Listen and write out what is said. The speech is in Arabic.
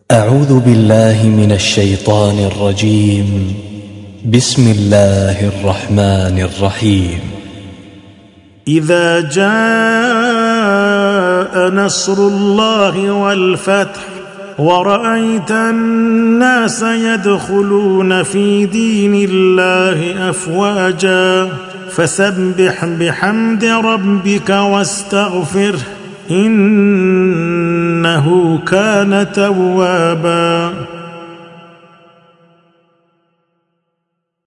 أعوذ بالله من الشيطان الرجيم. بسم الله الرحمن الرحيم. إذا جاء نصر الله والفتح ورأيت الناس يدخلون في دين الله أفواجا فسبح بحمد ربك واستغفره إنه كان توابا.